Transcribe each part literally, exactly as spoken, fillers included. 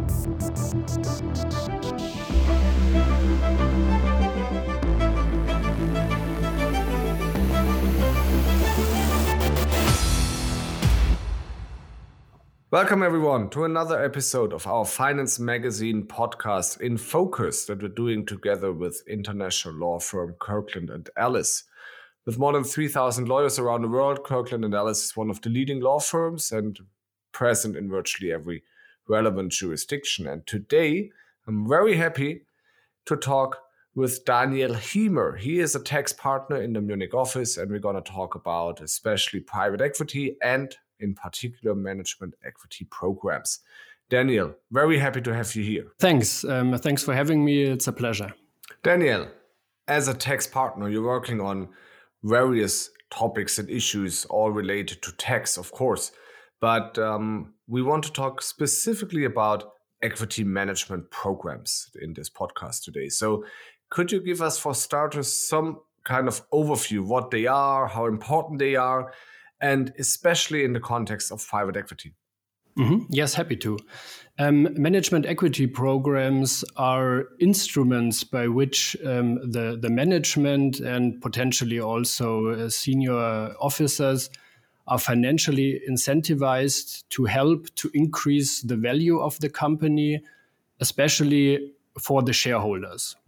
Welcome everyone to another episode of our Finance Magazine podcast in focus that we're doing together with international law firm Kirkland and Ellis. With more than three thousand lawyers around the world, Kirkland and Ellis is one of the leading law firms and present in virtually every relevant jurisdiction. And today, I'm very happy to talk with Daniel Hiemer. He is a tax partner in the Munich office, and we're going to talk about especially private equity and in particular management equity programs. Daniel, very happy to have you here. Thanks. Um, thanks for having me. It's a pleasure. Daniel, as a tax partner, you're working on various topics and issues, all related to tax, of course. But um, we want to talk specifically about equity management programs in this podcast today. So could you give us, for starters, some kind of overview, what they are, how important they are, and especially in the context of private equity? Mm-hmm. Yes, happy to. Um, management equity programs are instruments by which um, the, the management and potentially also uh, senior officers are financially incentivized to help to increase the value of the company, especially for the shareholders.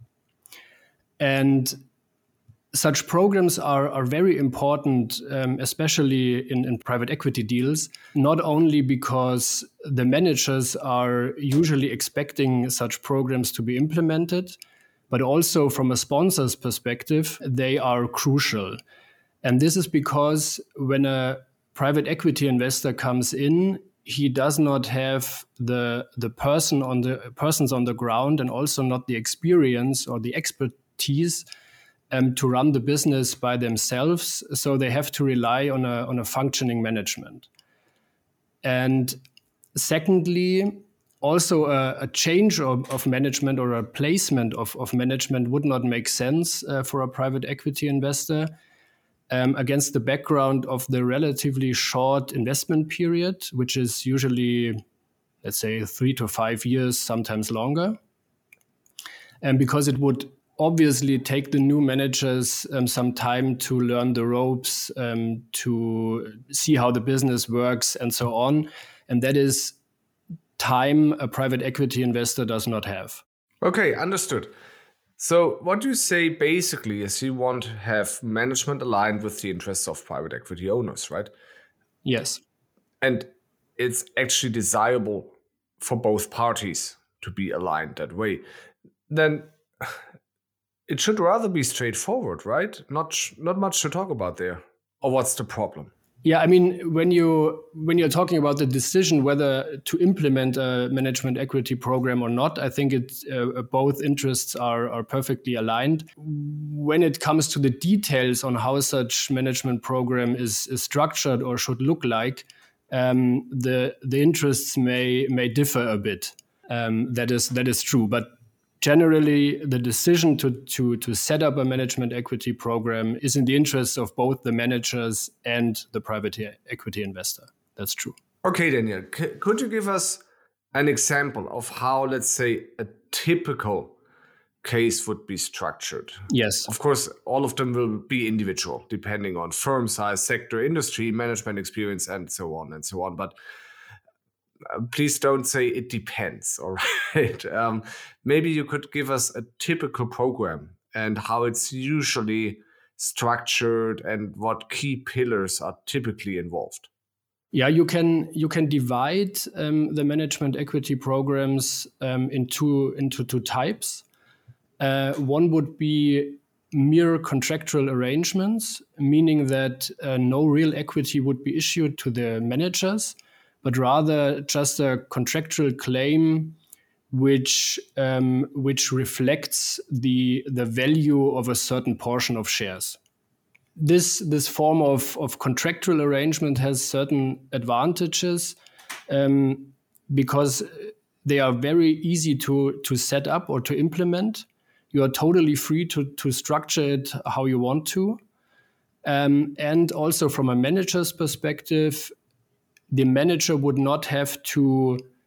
And such programs are, are very important, um, especially in, in private equity deals, not only because the managers are usually expecting such programs to be implemented, but also from a sponsor's perspective, they are crucial. And this is because when a private equity investor comes in, he does not have the, the person on the persons on the ground and also not the experience or the expertise Um, to run the business by themselves, so they have to rely on a on a functioning management. And secondly, also a, a change of, of management or a placement of, of management would not make sense uh, for a private equity investor um, against the background of the relatively short investment period, which is usually, let's say, three to five years, sometimes longer. And because it would obviously take the new managers um, some time to learn the ropes, um, to see how the business works and so on. And that is time a private equity investor does not have. Okay, understood. So what you say basically is you want to have management aligned with the interests of private equity owners, right? Yes. And it's actually desirable for both parties to be aligned that way. Then it should rather be straightforward, right? Not not much to talk about there. Or what's the problem? Yeah, I mean, when you when you're talking about the decision whether to implement a management equity program or not, I think it uh, both interests are are perfectly aligned. When it comes to the details on how such management program is, is structured or should look like, um, the the interests may may differ a bit. Um, that is that is true, but generally, the decision to, to, to set up a management equity program is in the interests of both the managers and the private equity investor. That's true. Okay, Daniel, C- could you give us an example of how, let's say, a typical case would be structured? Yes. Of course, all of them will be individual, depending on firm size, sector, industry, management experience, and so on and so on. But Uh, please don't say it depends, all right? Um, maybe you could give us a typical program and how it's usually structured and what key pillars are typically involved. Yeah, you can you can divide um, the management equity programs um, into into two types. Uh, one would be mere contractual arrangements, meaning that uh, no real equity would be issued to the managers, but rather just a contractual claim which um, which reflects the the value of a certain portion of shares. This this form of, of contractual arrangement has certain advantages um, because they are very easy to, to set up or to implement. You are totally free to, to structure it how you want to. Um, and also from a manager's perspective, the manager would not have to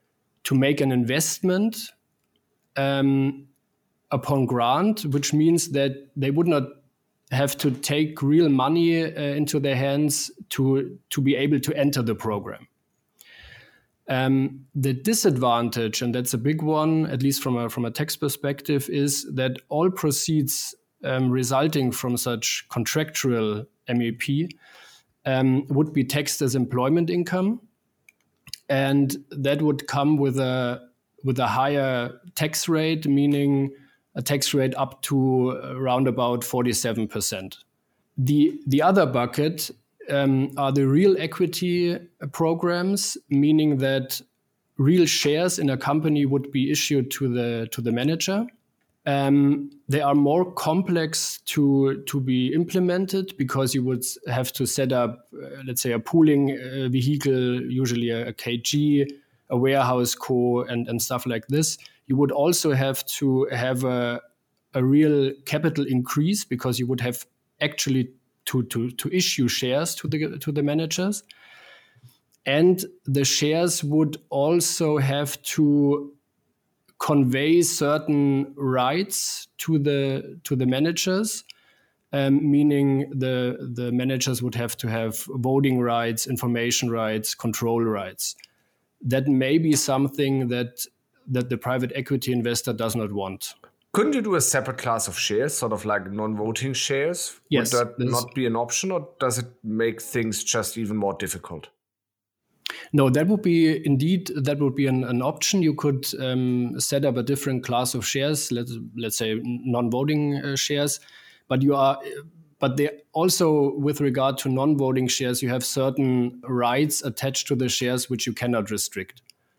to make an investment um, upon grant, which means that they would not have to take real money uh, into their hands to, to be able to enter the program. Um, the disadvantage, and that's a big one, at least from a, from a tax perspective, is that all proceeds um, resulting from such contractual M E P um, would be taxed as employment income. And that would come with a with a higher tax rate, meaning a tax rate up to around about forty-seven percent. The, the other bucket um, are the real equity programs, meaning that real shares in a company would be issued to the to the manager. Um, they are more complex to to be implemented because you would have to set up, uh, let's say, a pooling uh, vehicle, usually a, a K G, a warehouse co, and, and stuff like this. You would also have to have a, a real capital increase because you would have actually to, to, to issue shares to the to the managers. And the shares would also have to convey certain rights to the to the managers, um, meaning the the managers would have to have voting rights, information rights, control rights. That may be something that that the private equity investor does not want. Couldn't you do a separate class of shares, sort of like non-voting shares? Yes. Would that not be an option, or does it make things just even more difficult? No, that would be indeed, that would be an, an option. You could um, set up a different class of shares, let's, let's say non-voting uh, shares, but you are, but they also, with regard to non-voting shares, you have certain rights attached to the shares which you cannot restrict.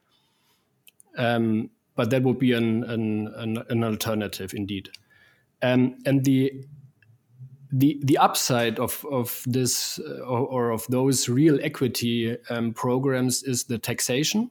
Um, but that would be an, an, an, an alternative indeed. Um, and the The the upside of of this uh, or, or of those real equity um, programs is the taxation.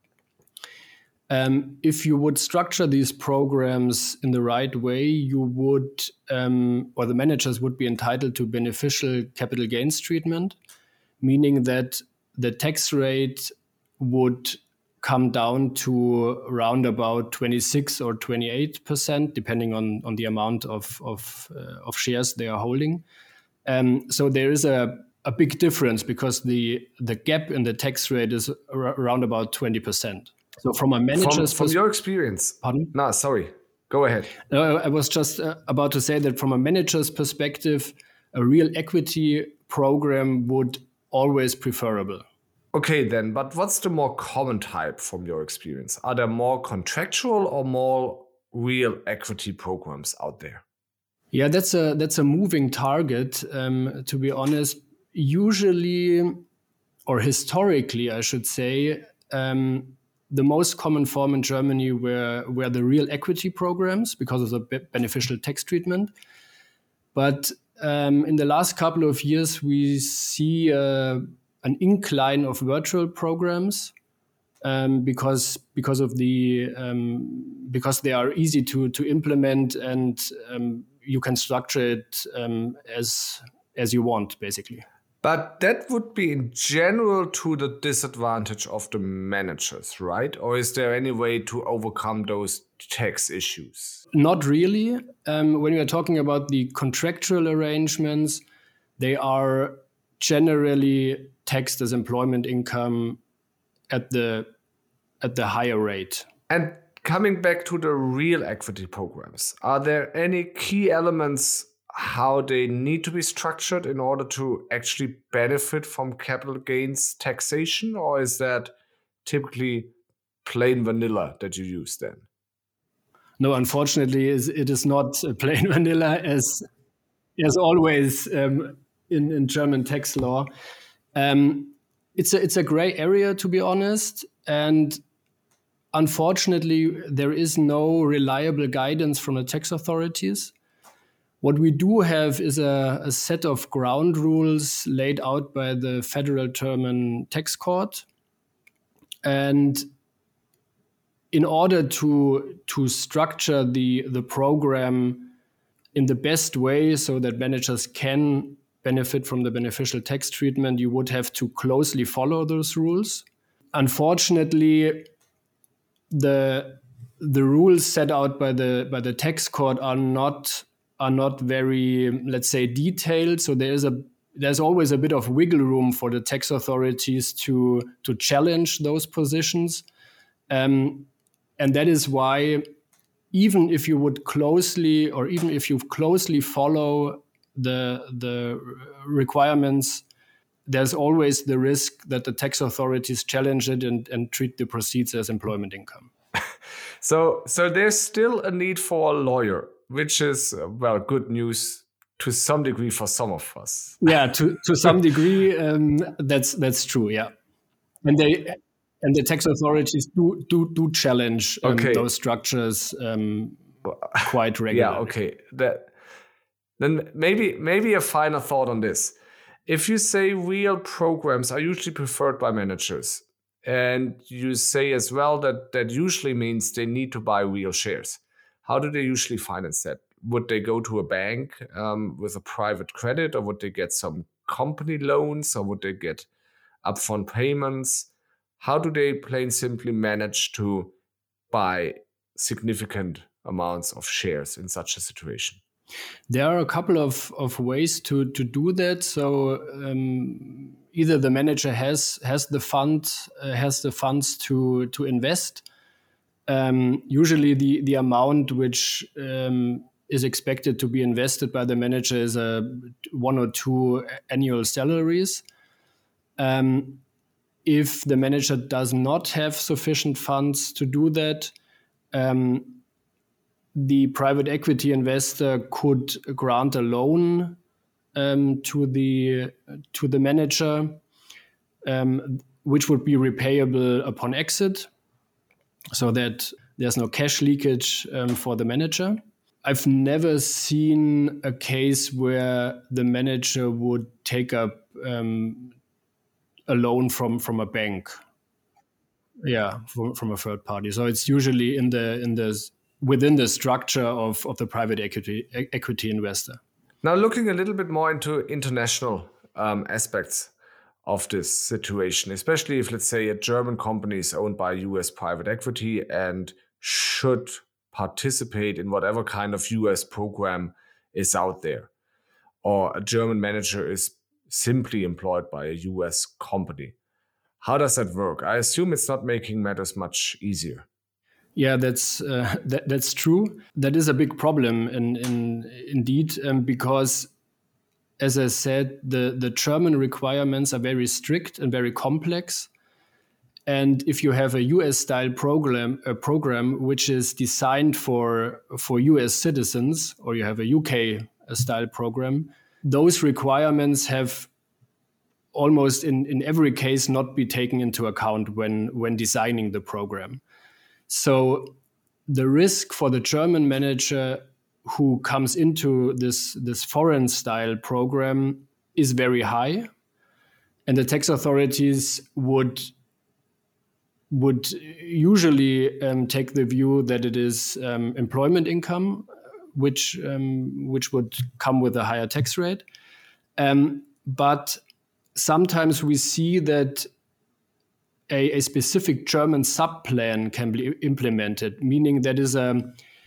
Um, if you would structure these programs in the right way, you would, um, or the managers would be entitled to beneficial capital gains treatment, meaning that the tax rate would come down to around about twenty-six or twenty-eight percent, depending on, on the amount of of, uh, of shares they are holding. Um, so there is a, a big difference because the the gap in the tax rate is ar- around about twenty percent. So from a manager's from, from your experience, pardon? No, sorry, go ahead. No, I was just uh, about to say that from a manager's perspective, a real equity program would always preferable. Okay, then, but what's the more common type from your experience? Are there more contractual or more real equity programs out there? Yeah, that's a that's a moving target, um, to be honest. Usually, or historically, I should say, um, the most common form in Germany were, were the real equity programs because of the be- beneficial tax treatment. But um, in the last couple of years, we see uh, an incline of virtual programs um, because because of the um, because they are easy to to implement and um, you can structure it um, as as you want, basically. But that would be in general to the disadvantage of the managers, right? Or is there any way to overcome those tax issues? Not really. Um, when we are talking about the contractual arrangements, they are generally taxed as employment income at the at the higher rate. And coming back to the real equity programs, are there any key elements how they need to be structured in order to actually benefit from capital gains taxation, or is that typically plain vanilla that you use then? No, unfortunately, it is not plain vanilla as as always um, in, in German tax law. Um, it's a it's a gray area, to be honest, and unfortunately, there is no reliable guidance from the tax authorities. What we do have is a, a set of ground rules laid out by the Federal German Tax Court. And in order to, to structure the, the program in the best way so that managers can benefit from the beneficial tax treatment, you would have to closely follow those rules. Unfortunately, the the rules set out by the by the tax court are not are not very, let's say, detailed. So there is a there's always a bit of wiggle room for the tax authorities to to challenge those positions, um, and that is why, even if you would closely or even if you closely follow the the requirements, there's always the risk that the tax authorities challenge it and, and treat the proceeds as employment income. So, so there's still a need for a lawyer, which is, uh, well, good news to some degree for some of us. Yeah, to, to some degree, um, that's that's true. Yeah, and they and the tax authorities do do do challenge um, okay. those structures um, quite regularly. Yeah. Okay. That then maybe maybe a final thought on this. If you say real programs are usually preferred by managers, and you say as well that that usually means they need to buy real shares, how do they usually finance that? Would they go to a bank um, with a private credit, or would they get some company loans, or would they get upfront payments? How do they plain simply manage to buy significant amounts of shares in such a situation? There are a couple of, of ways to, to do that. So um, either the manager has has the fund uh, has the funds to to invest. Um, usually, the the amount which um, is expected to be invested by the manager is a one or two annual salaries. Um, if the manager does not have sufficient funds to do that, um, the private equity investor could grant a loan um, to the to the manager, um, which would be repayable upon exit, so that there's no cash leakage um, for the manager. I've never seen a case where the manager would take up um, a loan from from a bank. Yeah, from, from a third party. So it's usually in the in the within the structure of, of the private equity equity investor. Now, looking a little bit more into international um, aspects of this situation, especially if, let's say, a German company is owned by U S private equity and should participate in whatever kind of U S program is out there, or a German manager is simply employed by a U S company. How does that work? I assume it's not making matters much easier. Yeah, that's uh, that, that's true. That is a big problem, in, in indeed, um, because, as I said, the, the German requirements are very strict and very complex. And if you have a U S-style program, a program which is designed for for U S citizens, or you have a U K-style program, those requirements have almost in, in every case not be taken into account when when designing the program. So the risk for the German manager who comes into this, this foreign style program is very high. And the tax authorities would, would usually um, take the view that it is um, employment income, which, um, which would come with a higher tax rate. Um, but sometimes we see that A, a specific German sub-plan can be implemented, meaning that is a,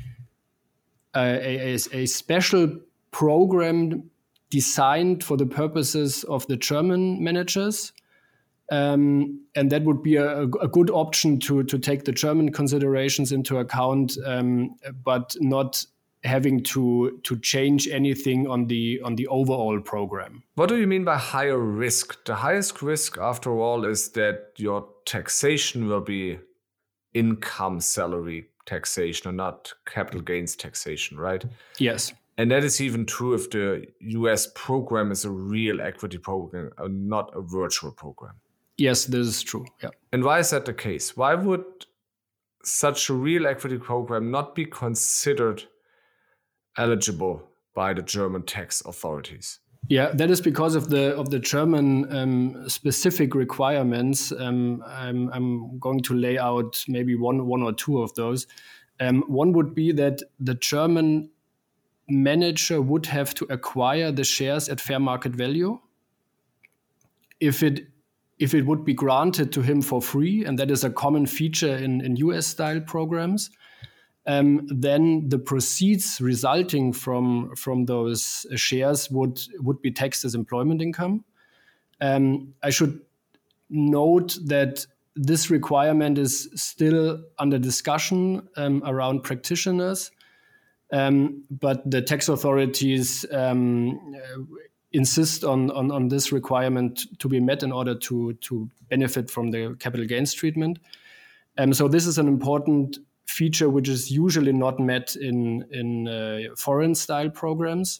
a, a, a special program designed for the purposes of the German managers. Um, and that would be a, a good option to, to take the German considerations into account, um, but not having to to change anything on the on the overall program. What do you mean by higher risk? The highest risk, after all, is that your taxation will be income salary taxation and not capital gains taxation, right? Yes. And that is even true if the U S program is a real equity program and not a virtual program. Yes, this is true. Yeah. And why is that the case? Why would such a real equity program not be considered eligible by the German tax authorities? Yeah, that is because of the of the German um, specific requirements. Um, I'm, I'm going to lay out maybe one one or two of those. Um, one would be that the German manager would have to acquire the shares at fair market value. If it if it would be granted to him for free, and that is a common feature in, in U S-style programs, um, then the proceeds resulting from, from those shares would, would be taxed as employment income. Um, I should note that this requirement is still under discussion um, around practitioners, um, but the tax authorities um, insist on, on, on this requirement to be met in order to, to benefit from the capital gains treatment. Um, so this is an important feature which is usually not met in, in uh, foreign-style programs.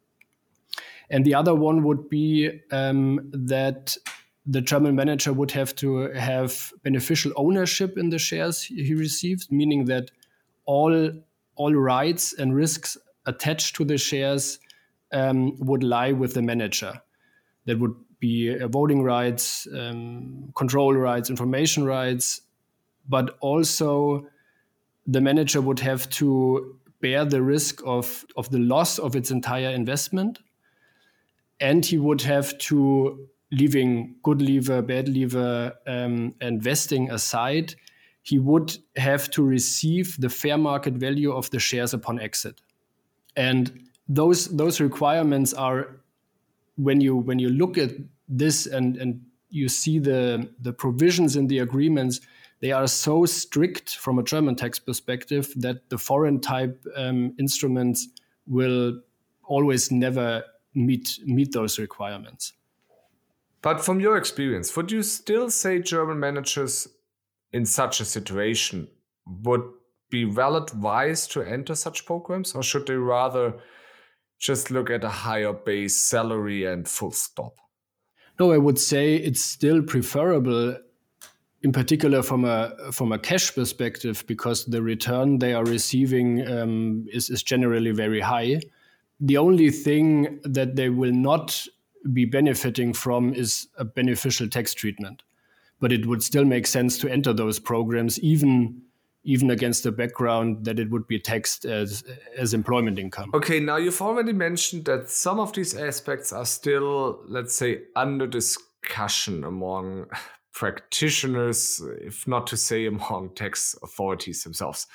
And the other one would be um, that the German manager would have to have beneficial ownership in the shares he received, meaning that all, all rights and risks attached to the shares um, would lie with the manager. That would be uh, voting rights, um, control rights, information rights, but also the manager would have to bear the risk of, of the loss of its entire investment. And he would have to, leaving good leaver, bad leaver, um, and vesting aside, he would have to receive the fair market value of the shares upon exit. And those those requirements are, when you when you look at this and, and you see the, the provisions in the agreements, they are so strict from a German tax perspective that the foreign type um, instruments will always never meet meet those requirements. But from your experience, would you still say German managers in such a situation would be well advised to enter such programs, or should they rather just look at a higher base salary and full stop? No, I would say it's still preferable, in particular from a from a cash perspective, because the return they are receiving um, is, is generally very high. The only thing that they will not be benefiting from is a beneficial tax treatment. But it would still make sense to enter those programs, even even against the background that it would be taxed as, as employment income. Okay, now you've already mentioned that some of these aspects are still, let's say, under discussion among practitioners, if not to say among tax authorities themselves.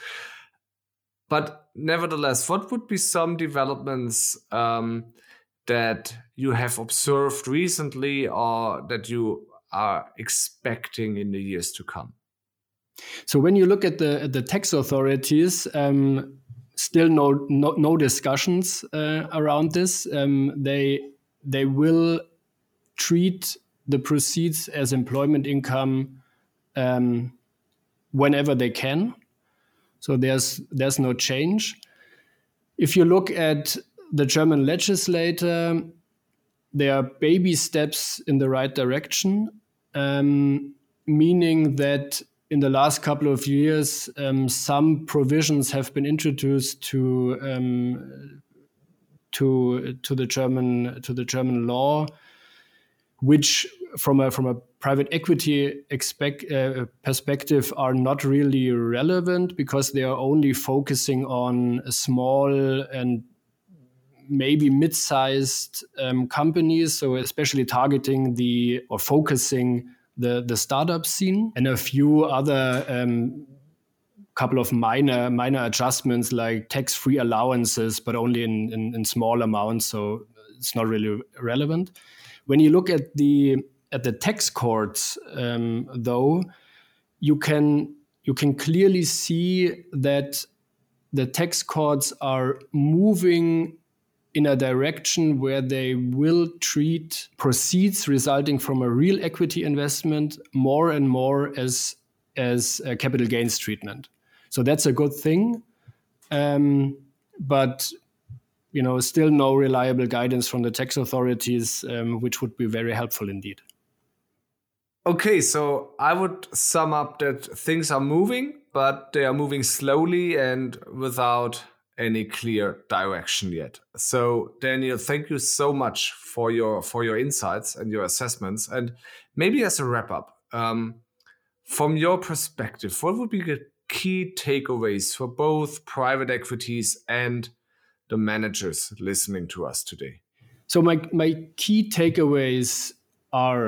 But nevertheless, what would be some developments um, that you have observed recently or that you are expecting in the years to come? So when you look at the at the tax authorities, um, still no no, no discussions uh, around this. Um, they they will treat the proceeds as employment income um, whenever they can. So there's there's no change. If you look at the German legislator, there are baby steps in the right direction, um, meaning that in the last couple of years, um, some provisions have been introduced to um, to to the German to the German law, which from a from a private equity expect, uh, perspective are not really relevant, because they are only focusing on small and maybe mid-sized um, companies, so especially targeting the or focusing the the startup scene, and a few other um, couple of minor minor adjustments like tax-free allowances, but only in, in, in small amounts, so it's not really relevant. When you look at the at the tax courts, um, though, you can you can clearly see that the tax courts are moving in a direction where they will treat proceeds resulting from a real equity investment more and more as as a capital gains treatment. So that's a good thing, um, but you know, still no reliable guidance from the tax authorities, um, which would be very helpful indeed. Okay, so I would sum up that things are moving, but they are moving slowly and without any clear direction yet. So Daniel, thank you so much for your for your insights and your assessments. And maybe as a wrap up, um, from your perspective, what would be the key takeaways for both private equities and the managers listening to us today? So my my key takeaways are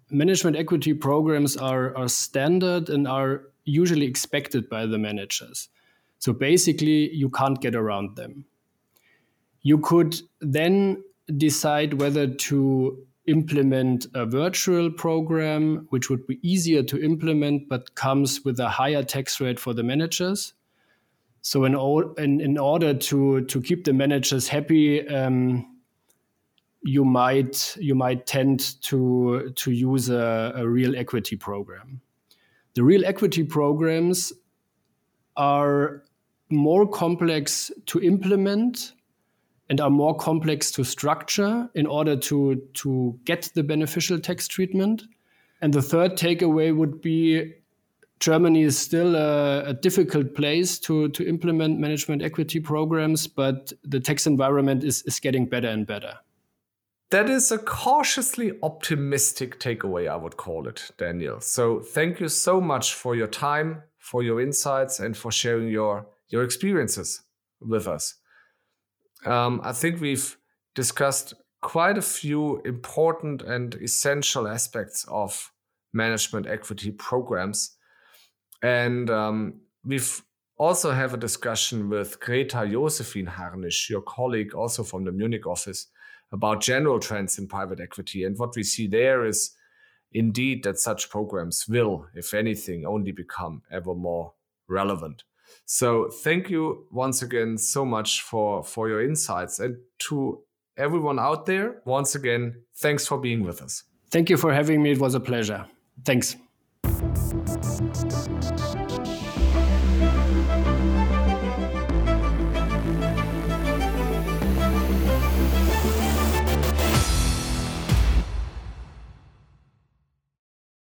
management equity programs are, are standard and are usually expected by the managers. So basically, you can't get around them. You could then decide whether to implement a virtual program, which would be easier to implement, but comes with a higher tax rate for the managers. So in, in, in order to, to keep the managers happy, um, you might you might tend to, to use a, a real equity program. The real equity programs are more complex to implement and are more complex to structure in order to, to get the beneficial tax treatment. And the third takeaway would be Germany is still a, a difficult place to, to implement management equity programs, but the tax environment is, is getting better and better. That is a cautiously optimistic takeaway, I would call it, Daniel. So thank you so much for your time, for your insights, and for sharing your, your experiences with us. Um, I think we've discussed quite a few important and essential aspects of management equity programs. And um, we've also have a discussion with Greta Josephine Harnisch, your colleague also from the Munich office, about general trends in private equity. And what we see there is indeed that such programs will, if anything, only become ever more relevant. So thank you once again so much for, for your insights. And to everyone out there, once again, thanks for being with us. Thank you for having me. It was a pleasure. Thanks.